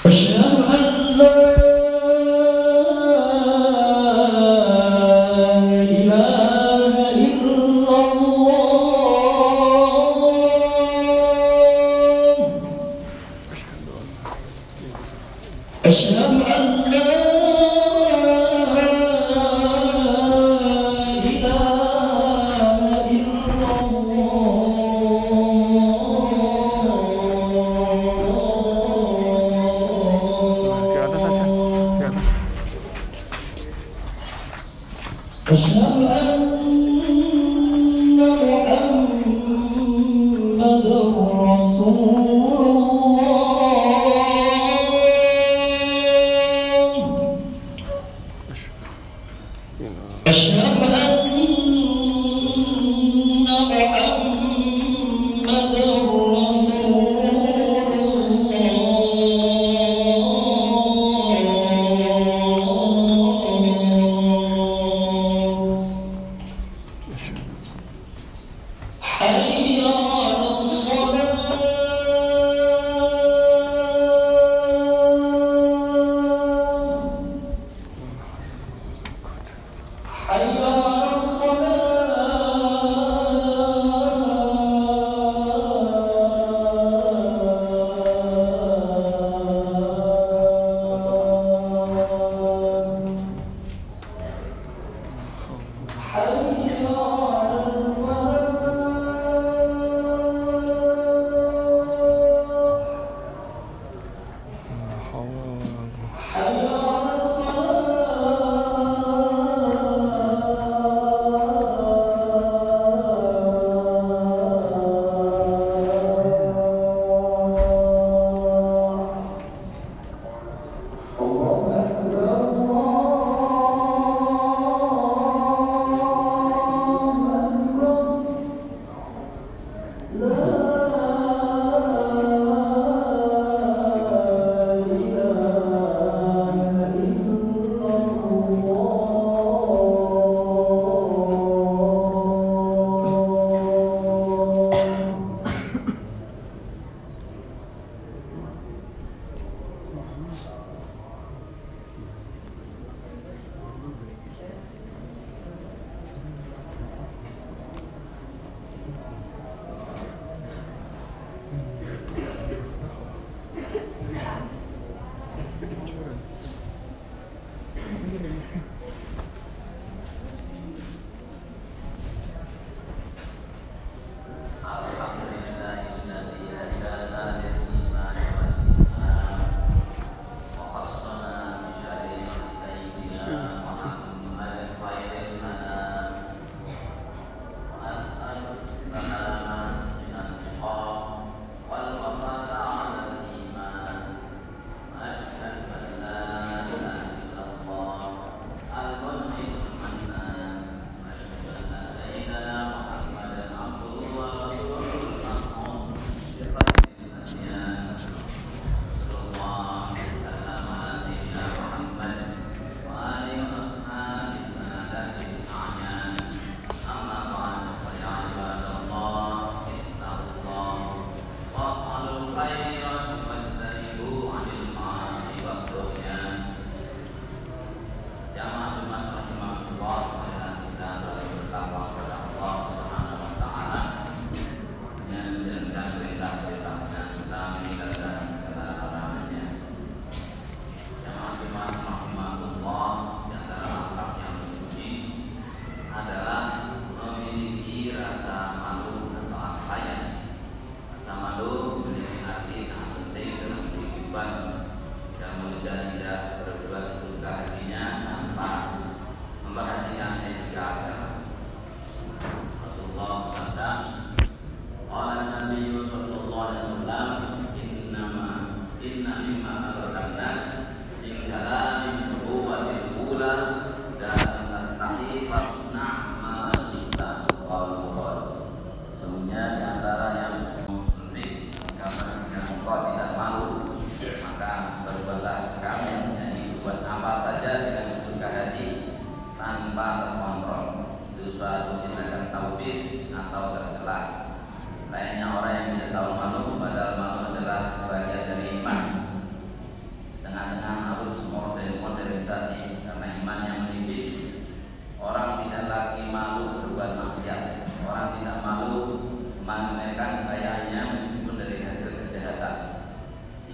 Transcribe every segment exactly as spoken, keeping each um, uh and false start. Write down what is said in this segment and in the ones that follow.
أشهد أن لا إله إلا الله أشهد أن لا أشهد أن محمدًا رسول الله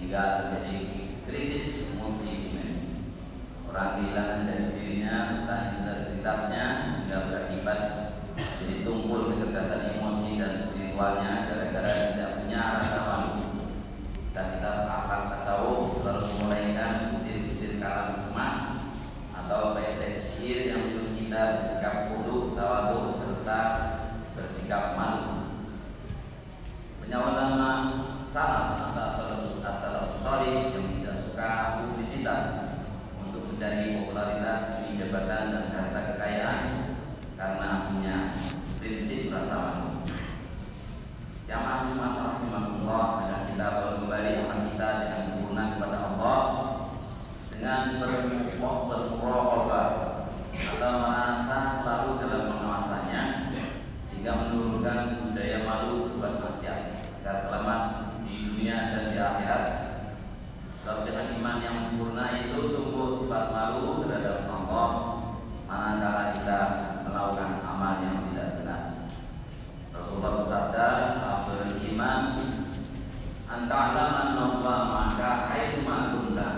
sehingga terjadi krisis multidimensi. Orang kehilangan jati dirinya, entah integritasnya, hingga berakibat jadi tumpul kecerdasan emosi dan spiritualnya gara-gara tidak punya rasa malu. Dan kita akal tasawuf selalu memulaikan butir-butir kalam hikmah atau bait-bait syair yang menuntut kita bersikap khudu, tawadhu serta bersikap malu. Banyak ulama salaf atau salaf salih yang tidak suka publisitas untuk mencari popularitas demi jabatan dan harta kekayaan karena punya prinsip rasa malu. Jamaah Jumat rahimahullah, dan kita baru kembali amal kita dengan sempurna kepada Allah dengan bermuraqabah atau merasa selalu dalam pengawasannya sehingga menurunkan budaya malu buat manusia agar selamat di dunia dan di akhirat. Sebab dengan iman yang sempurna itu tumbuh sifat malu terhadap Allah manakala kita melakukan amal yang tidak benar. Rasulullah bersabda, "Afdhalul iman anta'lama anna maka haitsu ma kunta."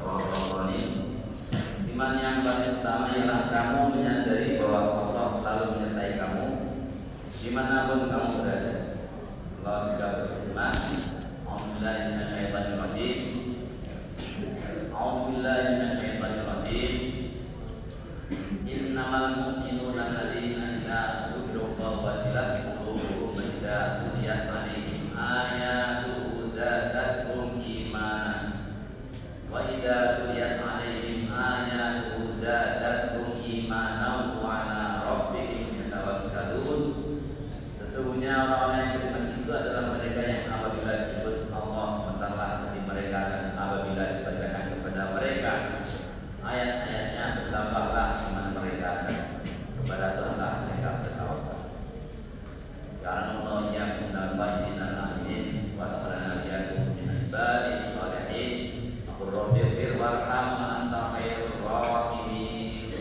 Iman yang paling utama ialah kamu menyadari bahwa Allah selalu menyertai kamu dimanapun kamu berada. Allah juga berfirman, "A'udzubillahi minasyaitonir rajim. A'udzubillahi minasyaitonir rajim. Innamal mu'minuna alladzina idza dzukira wajilat qulubuhum wa idza tuliyat 'alaihim ayatuhu zadatuhum imanan wa idza tuliyat 'alaihim ayatuhu zadatuhum imanan wa 'ala rabbihim yatawakkalun." Sesungguhnya orang-orang yang beriman itu adalah mereka yang apabila disebut Allah bentarlah hati mereka, dan apabila dibacakan kepada mereka ayat-ayatnya bertambahlah iman mereka, dan kepada Tuhanlah mereka bertawakal. Karena Allah yang menambah iman amin wa ta'ala yaqulu min ibadi sholihin aqul rabbighfir warham anta khairur rahimin.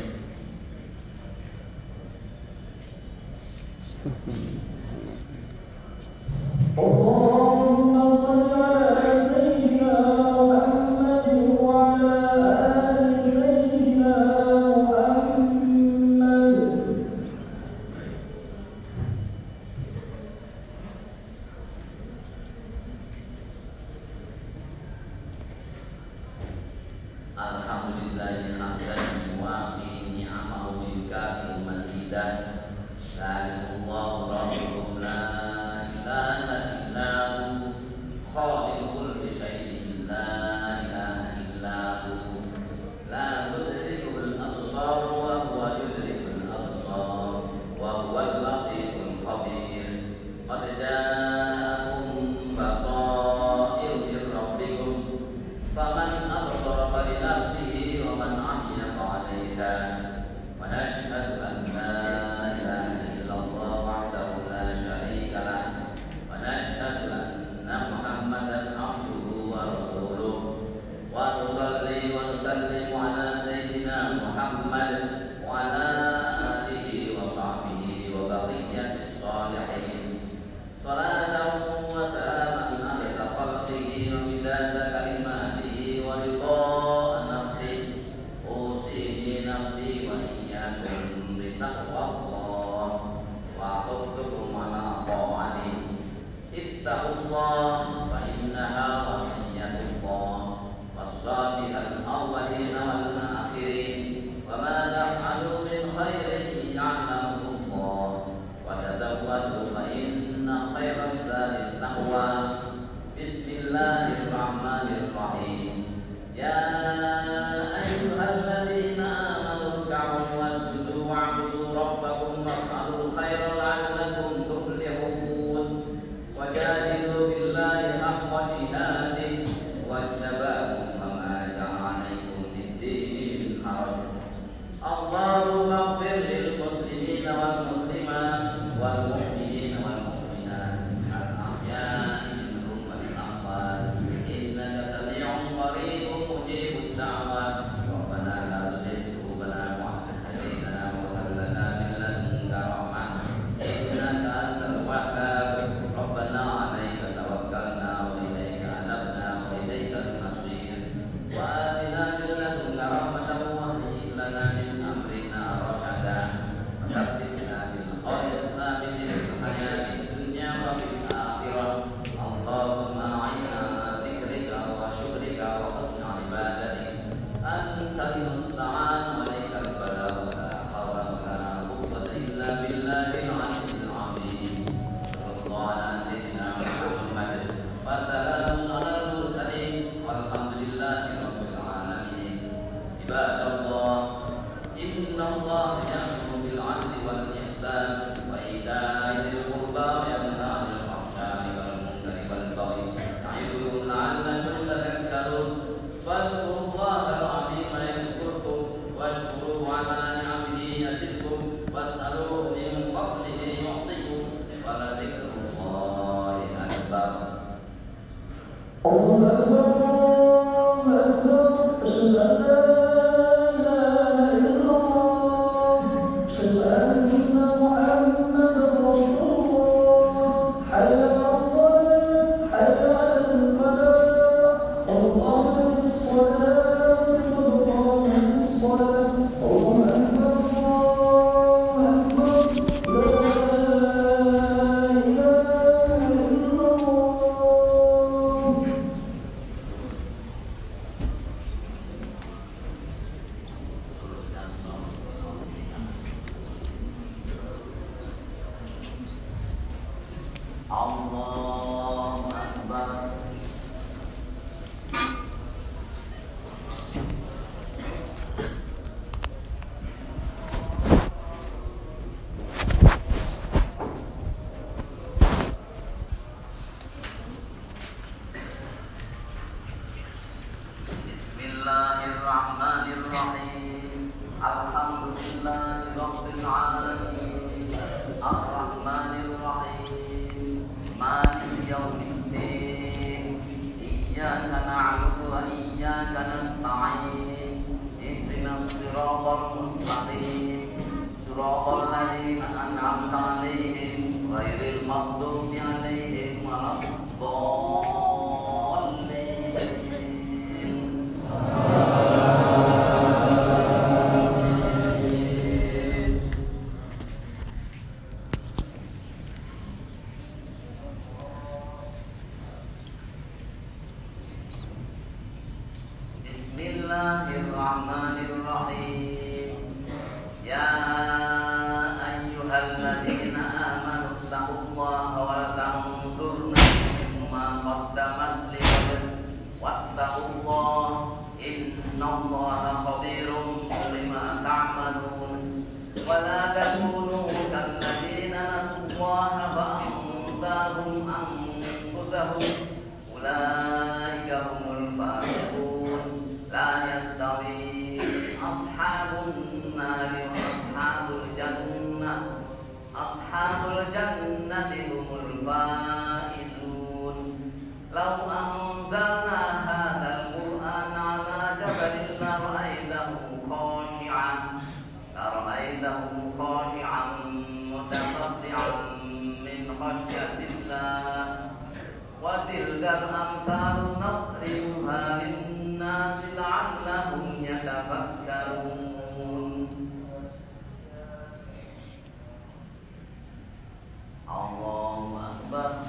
Allahumma shalli ala sayyidina Muhammad wa ala ali sayyidina Muhammad. Alhamdulillahi hamdan yuwafi ni'amahu wa yukafi mazidah. Allahu rabbukum la ilaha illa hu khaliqul syai'in la ilaha illa hu la tudrikul absar wa huwa yudrikul absar wa huwal latiful khabir. Qad ja'akum basair min rabbikum faman absara falinafsihi wa man 'amiya fa'alayha. Wa nashhadu an la ilaha illallah wahdahu la syarika lah wa nashhadu anna Muhammadan abduhu wa rasuluh wa nusalli wa nusallimu ala sayyidina Muhammad wa ala alihi wa sahbihi wa baqiyatis sholihin salatan wa salaman ala khalqihi wa midada kalimatihi wa ridha nafsihi usihi nafsi wa iyyakum bi taqwallah wa aqutukum ala ta'ani ittaqullah fa innaha wasiyatullah was-salihal awwalin wal akhirin wa ma taf'alu min khairin ya'lamullah wa tazawwadu fa inna khairaz zadi taqwa. Bismillahirrahmanirrahim. Ya ayyuhalladzina amanu irka'u wasjudu wa'budu rabbakum was'alul khaira la'allakum tuflihun. Wajadilu billahi haqqa jihadih wajtabakum wa ma ja'ala 'alaikum fid-dini min haraj. Allahumma ighfir lil muslimina wal muslimat wal mu'minina wal mu'minat al-ahya'i minhum wal amwat innaka sami'un qaribun mujibud ibadallah innallaha ya'muru bil 'adli wal ihsan wa ita'i dzil qurba wa yanha 'anil fahsya'i wal munkari wal baghi ya'idukum la'allakum tadhakkarun fadhkurullaha al-'azima yadhkurkum washkuruhu 'ala ni'amihi yazidkum was'aluhu min fadlihi yu'tikum wa la dzikrullahi akbar. Allahu Akbar, Allahu Akbar, asyhadu an la ilaha illallah, asyhadu anna Muhammadar Rasulullah, hayya 'alas shalah, hayya 'alal falah, Allahu akbar, Allahu akbar, Allahu akbar, Allahu akbar, la ilaha illallah. Allahu Akbar. Bismillahirrahmanirrahim. Alhamdulillahi rabbil alamin. Ar-Rahmanir Rahim. Maliki yaumiddin. Iyyaka na'budu wa iyyaka nasta'in. Ihdinas siratal mustaqim. Siratal ladzina an'amta 'alaihim ghairil maghdubi 'alaihim waladdallin. Bismillahirrahmanirrahim. Ya ayyuhalladzina amanu taqullaha wa tanzur nafsum ma qaddamat lighad wattaqullaha innallaha khabirum bima ta'malun wa la takunu kalladzina nasullaha fa ansahum anfusahum ulaika humul fasiqun. La yastawi ashabun nari wa ashabul jannah. Ashabul jannati humul faizun. Law anzalna hadzal qur'ana 'ala jabalin la ra'aytahu khashi'an la ra'aytahu khashi'an mutasaddian min khashyatillah. Wa tilkal amsalu nadribuha lin-nasi la'allahum yatafakkarun. Allahu Akbar.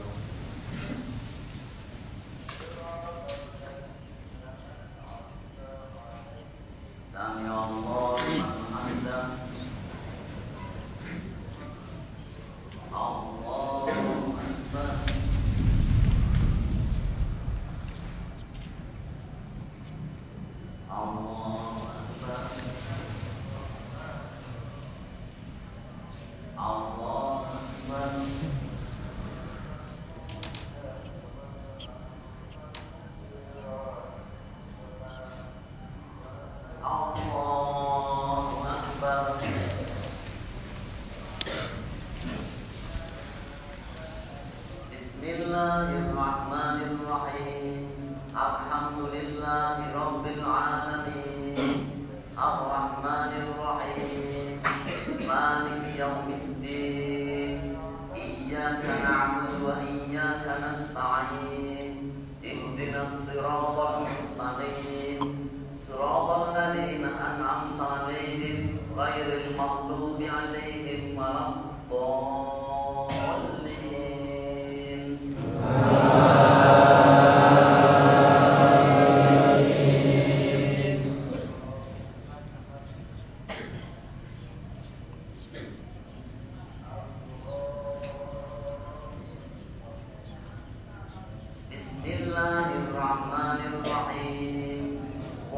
Sami'allahu liman hamidah. Allahu Akbar. Allahu Akbar. Allahu Akbar. Allahu Akbar. Bismillahirrahmanirrahim. Alhamdulillahi rabbil alamin. Ar-Rahmanir Rahim. Maliki yaumiddin. Iyyaka na'budu wa iyyaka nasta'in. Ihdinas siratal mustaqim. Siratal ladzina an'amta 'alaihim ghairil maghdubi 'alaihim waladdallin. Bismillahirrahmanirrahim.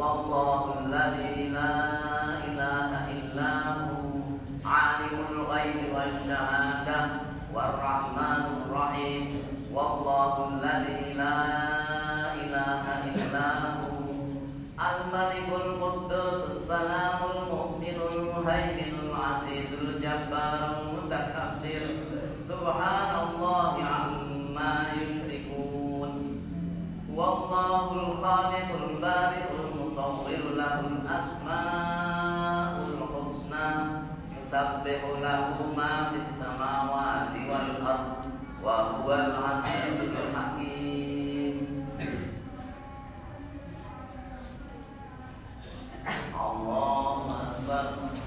Wallahu alladzi la ilaha illa hu alimul ghaibi wasyahadah warrahmanur rahim. Wallahu alladzi la ilaha illa hu al-malikul quddus as-salamul mu'minul muhaiminul azizul jabbarul mutakabbir. Subhanallahi amma yushrikun. Wallahul khaliqul bari'ul musawwir lahul asmaul husna yusabbihu lahu ma fis samawati wal ardh wa huwal azizul hakim. Allahu akbar.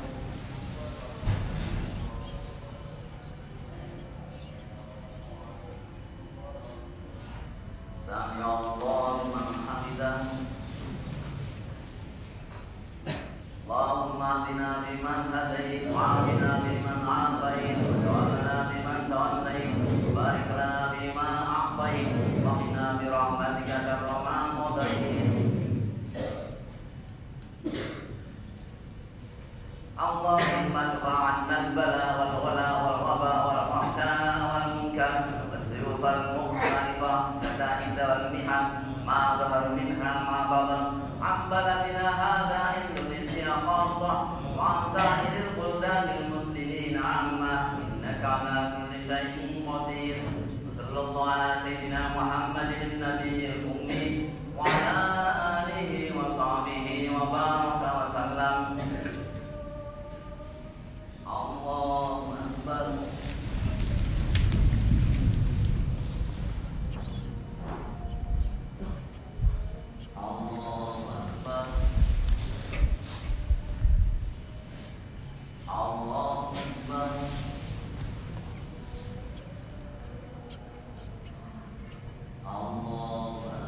Sami Allahu liman hamidah. Allahumma hdina fiman hadait wa afina fiman afait wa tawallana fiman tawallait wa barik lana fima a'tait wa qina bi rahmatika syarra ma qadait. Allahumma dfa'anna al-bala wal ghala wal waba wal fahsha wal munkar was-suyuf wal mukhtalifah sada'id wal mihan ma dhahar minha ma batan an baladina hadha Indonesia khassah wa an sa'iril buldanil muslimin amma innaka ala kulli syai'in qadir. Sallallahu ala sayyidina Muhammadin nabiyil ummi wa ala alihi wa sahbihi wa baraka wa sallam. Allahu akbar. Allahu akbar. Allahu akbar. Allahu akbar.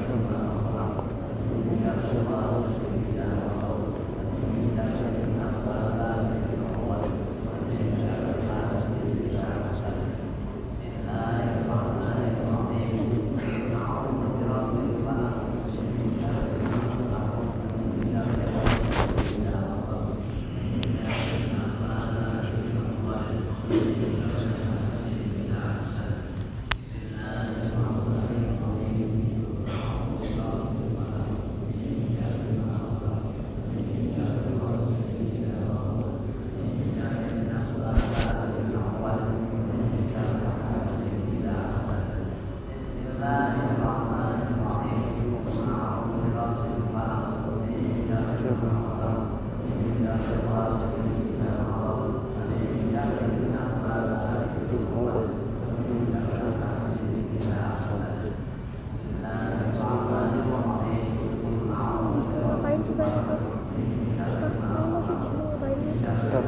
Ngapain sih banyak tuh? Kamu masih di sini ngapain nih? Daftar.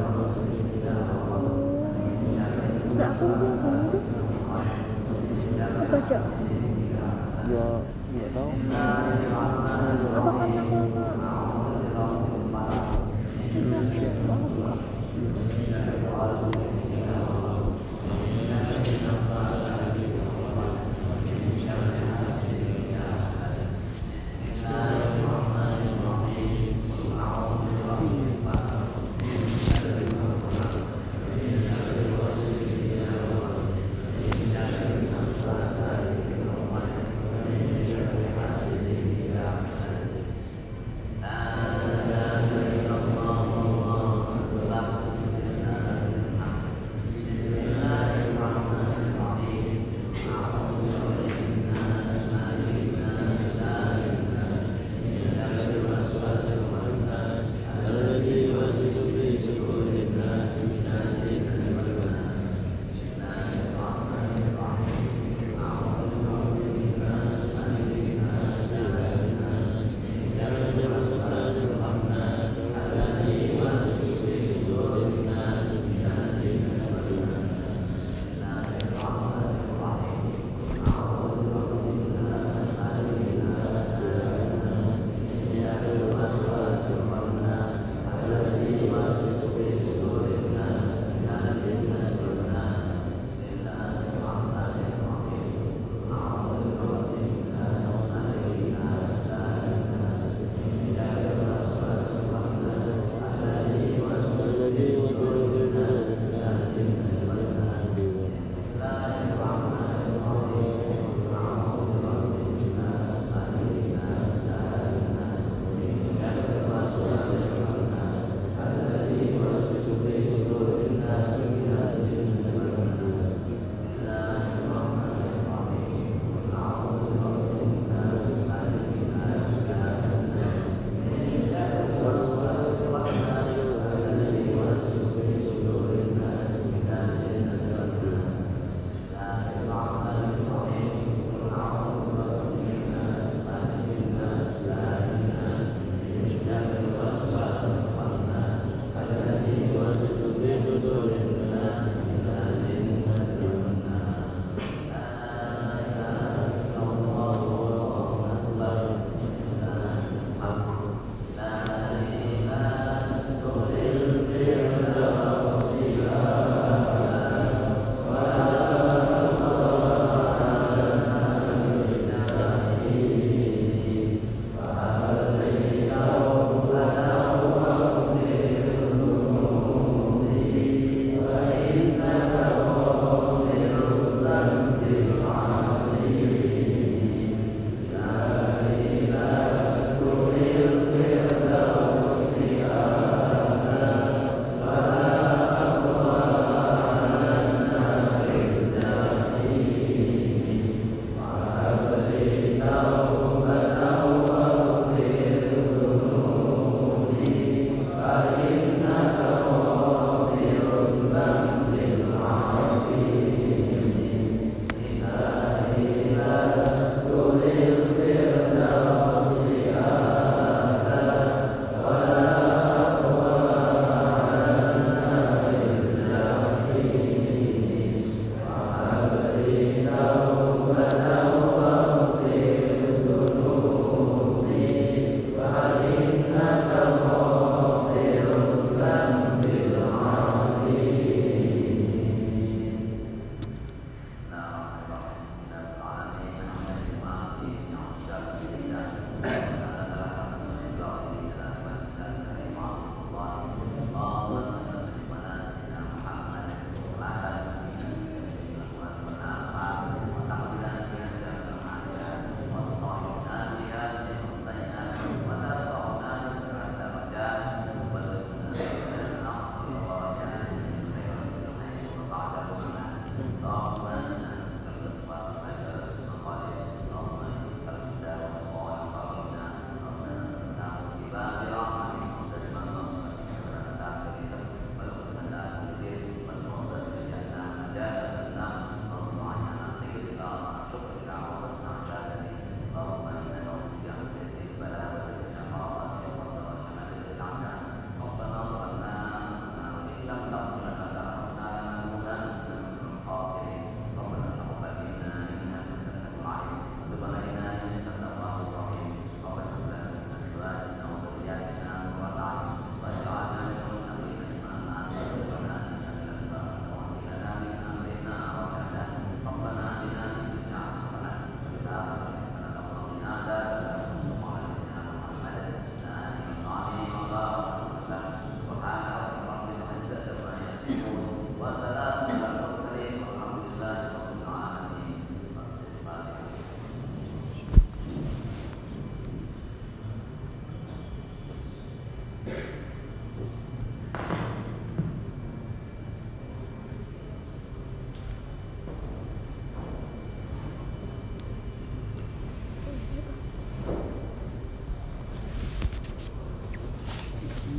Enggak, aku belum bunyi tuh. Aku baca. Ya nggak tahu. Apa karena aku nggak? Coba aku mau buka.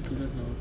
Tidak tahu.